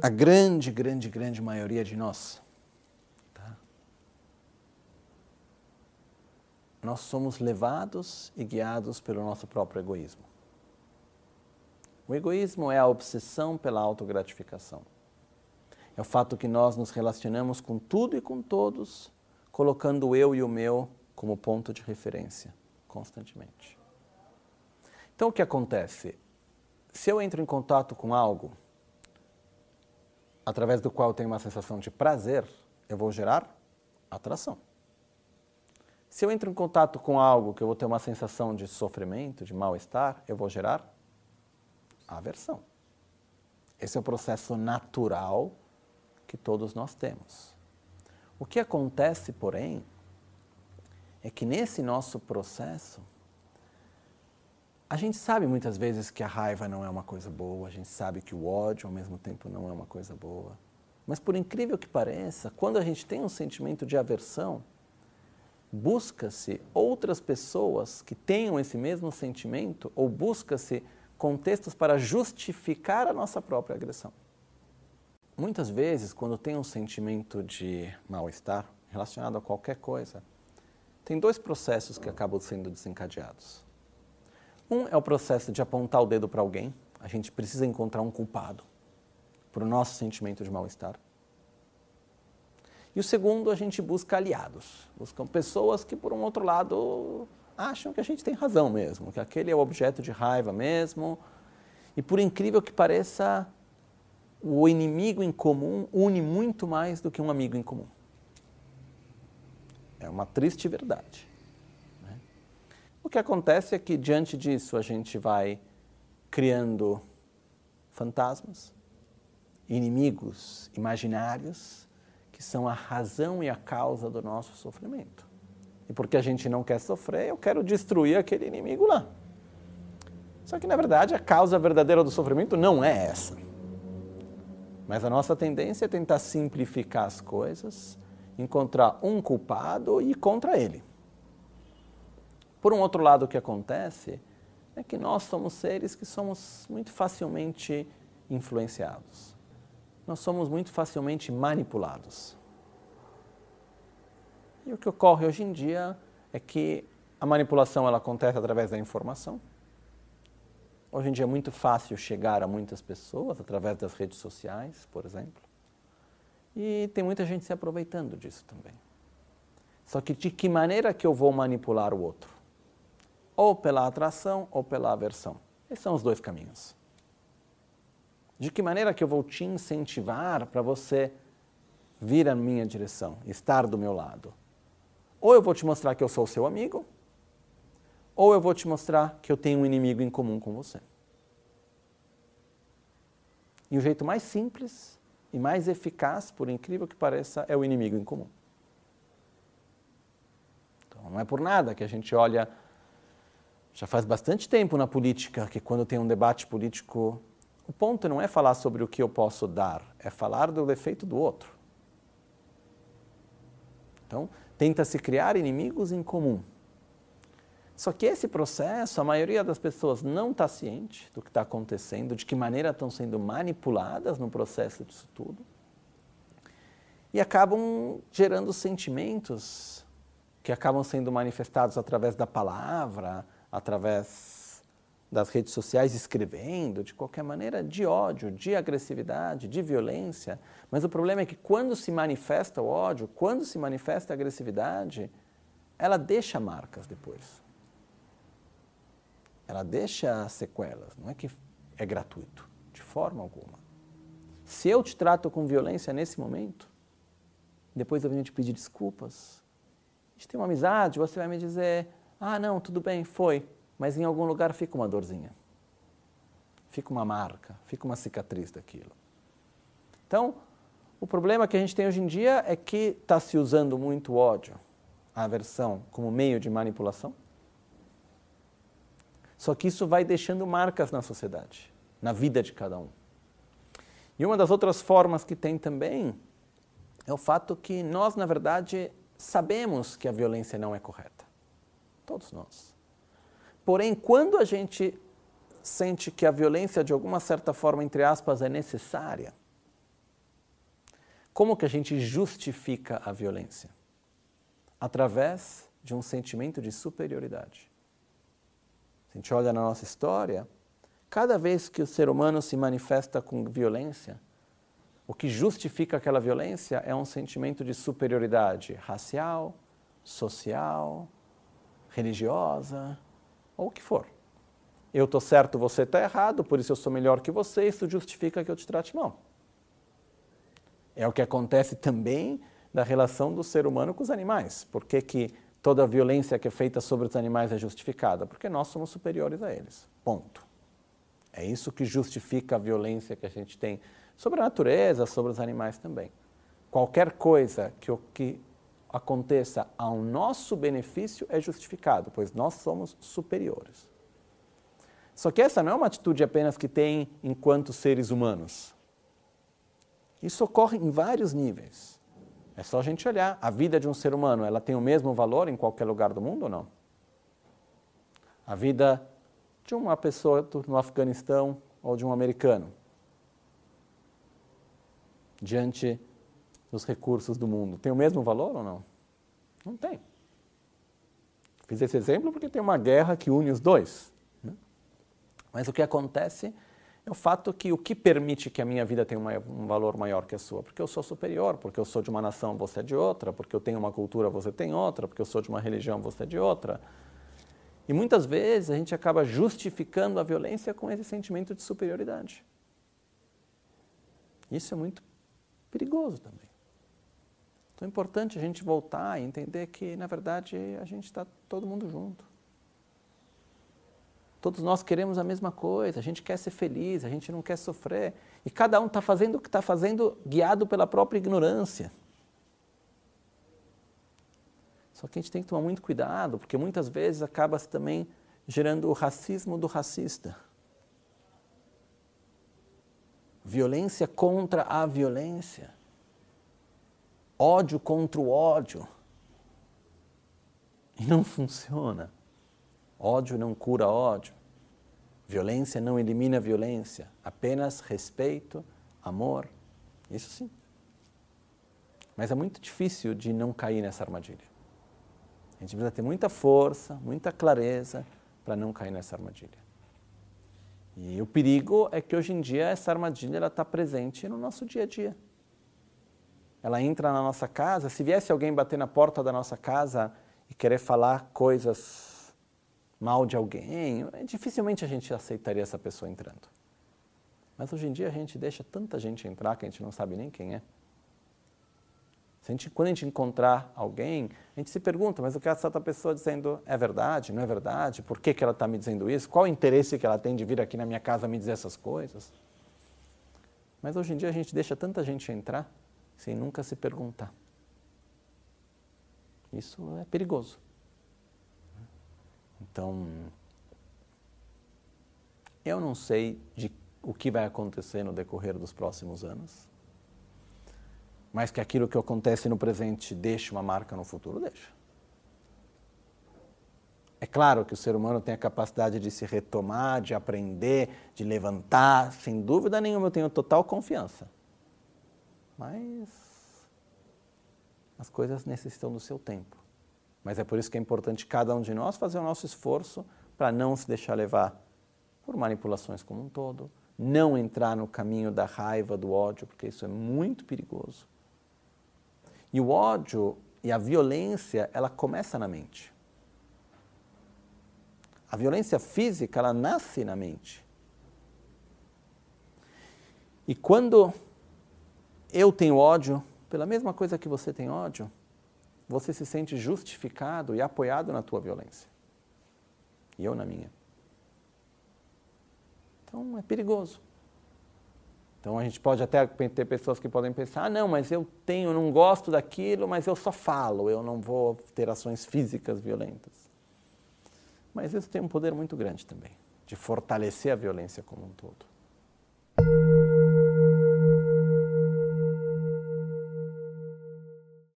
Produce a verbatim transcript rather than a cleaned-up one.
a grande, grande, grande maioria de nós, tá? Nós somos levados e guiados pelo nosso próprio egoísmo. O egoísmo é a obsessão pela autogratificação. É o fato que nós nos relacionamos com tudo e com todos, colocando o eu e o meu como ponto de referência, constantemente. Então, o que acontece? Se eu entro em contato com algo através do qual eu tenho uma sensação de prazer, eu vou gerar atração. Se eu entro em contato com algo que eu vou ter uma sensação de sofrimento, de mal-estar, eu vou gerar aversão. Esse é o processo natural que todos nós temos. O que acontece, porém, é que nesse nosso processo, a gente sabe muitas vezes que a raiva não é uma coisa boa, a gente sabe que o ódio ao mesmo tempo não é uma coisa boa. Mas por incrível que pareça, quando a gente tem um sentimento de aversão, busca-se outras pessoas que tenham esse mesmo sentimento ou busca-se contextos para justificar a nossa própria agressão. Muitas vezes, quando tem um sentimento de mal-estar relacionado a qualquer coisa, tem dois processos que acabam sendo desencadeados. Um é o processo de apontar o dedo para alguém. A gente precisa encontrar um culpado para o nosso sentimento de mal-estar. E o segundo, a gente busca aliados. Buscam pessoas que, por um outro lado, acham que a gente tem razão mesmo, que aquele é o objeto de raiva mesmo. E por incrível que pareça, o inimigo em comum une muito mais do que um amigo em comum. É uma triste verdade. Né? O que acontece é que, diante disso, a gente vai criando fantasmas, inimigos imaginários, que são a razão e a causa do nosso sofrimento. E porque a gente não quer sofrer, eu quero destruir aquele inimigo lá. Só que, na verdade, a causa verdadeira do sofrimento não é essa. Mas a nossa tendência é tentar simplificar as coisas, encontrar um culpado e ir contra ele. Por um outro lado, o que acontece é que nós somos seres que somos muito facilmente influenciados. Nós somos muito facilmente manipulados. E o que ocorre hoje em dia é que a manipulação ela acontece através da informação. Hoje em dia é muito fácil chegar a muitas pessoas através das redes sociais, por exemplo. E tem muita gente se aproveitando disso também. Só que de que maneira que eu vou manipular o outro? Ou pela atração ou pela aversão. Esses são os dois caminhos. De que maneira que eu vou te incentivar para você vir à minha direção, estar do meu lado? Ou eu vou te mostrar que eu sou seu amigo, ou eu vou te mostrar que eu tenho um inimigo em comum com você. E o jeito mais simples e mais eficaz, por incrível que pareça, é o inimigo em comum. Então, não é por nada que a gente olha, já faz bastante tempo na política, que quando tem um debate político, o ponto não é falar sobre o que eu posso dar, é falar do defeito do outro. Então, tenta-se criar inimigos em comum. Só que esse processo, a maioria das pessoas não está ciente do que está acontecendo, de que maneira estão sendo manipuladas no processo disso tudo, e acabam gerando sentimentos que acabam sendo manifestados através da palavra, através das redes sociais, escrevendo, de qualquer maneira, de ódio, de agressividade, de violência. Mas o problema é que quando se manifesta o ódio, quando se manifesta a agressividade, ela deixa marcas depois. Ela deixa sequelas, não é que é gratuito, de forma alguma. Se eu te trato com violência nesse momento, depois eu venho te pedir desculpas, a gente tem uma amizade, você vai me dizer, ah não, tudo bem, foi, mas em algum lugar fica uma dorzinha, fica uma marca, fica uma cicatriz daquilo. Então, o problema que a gente tem hoje em dia é que está se usando muito o ódio, a aversão, como meio de manipulação. Só que isso vai deixando marcas na sociedade, na vida de cada um. E uma das outras formas que tem também é o fato que nós, na verdade, sabemos que a violência não é correta. Todos nós. Porém, quando a gente sente que a violência, de alguma certa forma, entre aspas, é necessária, Como que a gente justifica a violência? Através de um sentimento de superioridade. Se a gente olha na nossa história, cada vez que o ser humano se manifesta com violência, o que justifica aquela violência é um sentimento de superioridade racial, social, religiosa, ou o que for. Eu estou certo, você está errado, por isso eu sou melhor que você, isso justifica que eu te trate mal. É o que acontece também da relação do ser humano com os animais. Por que que toda a violência que é feita sobre os animais é justificada? Porque nós somos superiores a eles. Ponto. É isso que justifica a violência que a gente tem sobre a natureza, sobre os animais também. Qualquer coisa que, que aconteça ao nosso benefício é justificado, pois nós somos superiores. Só que essa não é uma atitude apenas que tem enquanto seres humanos. Isso ocorre em vários níveis. É só a gente olhar. A vida de um ser humano, ela tem o mesmo valor em qualquer lugar do mundo ou não? A vida de uma pessoa no Afeganistão ou de um americano, diante dos recursos do mundo, tem o mesmo valor ou não? Não tem. Fiz esse exemplo porque tem uma guerra que une os dois. Né? Mas o que acontece é o fato que o que permite que a minha vida tenha uma, um valor maior que a sua? Porque eu sou superior, porque eu sou de uma nação, você é de outra, porque eu tenho uma cultura, você tem outra, porque eu sou de uma religião, você é de outra. E muitas vezes a gente acaba justificando a violência com esse sentimento de superioridade. Isso é muito perigoso também. Então é importante a gente voltar e entender que, na verdade, a gente está todo mundo junto. Todos nós queremos a mesma coisa, a gente quer ser feliz, a gente não quer sofrer. E cada um está fazendo o que está fazendo guiado pela própria ignorância. Só que a gente tem que tomar muito cuidado, porque muitas vezes acaba-se também gerando o racismo do racista. Violência contra a violência. Ódio contra o ódio. E não funciona. Ódio não cura ódio. Violência não elimina violência. Apenas respeito, amor. Isso sim. Mas é muito difícil de não cair nessa armadilha. A gente precisa ter muita força, muita clareza para não cair nessa armadilha. E o perigo é que hoje em dia essa armadilha está presente no nosso dia a dia. Ela entra na nossa casa, se viesse alguém bater na porta da nossa casa e querer falar coisas mal de alguém, dificilmente a gente aceitaria essa pessoa entrando. Mas hoje em dia a gente deixa tanta gente entrar que a gente não sabe nem quem é. Se a gente, quando a gente encontrar alguém, a gente se pergunta, mas o que essa outra pessoa dizendo é verdade, não é verdade? Por que que ela está me dizendo isso? Qual o interesse que ela tem de vir aqui na minha casa me dizer essas coisas? Mas hoje em dia a gente deixa tanta gente entrar sem nunca se perguntar. Isso é perigoso. Então, eu não sei de o que vai acontecer no decorrer dos próximos anos, mas que aquilo que acontece no presente deixe uma marca no futuro, deixa. É claro que o ser humano tem a capacidade de se retomar, de aprender, de levantar, sem dúvida nenhuma, eu tenho total confiança. Mas as coisas necessitam do seu tempo. Mas é por isso que é importante cada um de nós fazer o nosso esforço para não se deixar levar por manipulações como um todo, não entrar no caminho da raiva, do ódio, porque isso é muito perigoso. E o ódio e a violência, ela começa na mente. A violência física, ela nasce na mente. E quando eu tenho ódio, pela mesma coisa que você tem ódio, você se sente justificado e apoiado na tua violência. E eu na minha. Então é perigoso. Então a gente pode até ter pessoas que podem pensar, ah, não, mas eu tenho, não gosto daquilo, mas eu só falo, eu não vou ter ações físicas violentas. Mas isso tem um poder muito grande também, de fortalecer a violência como um todo.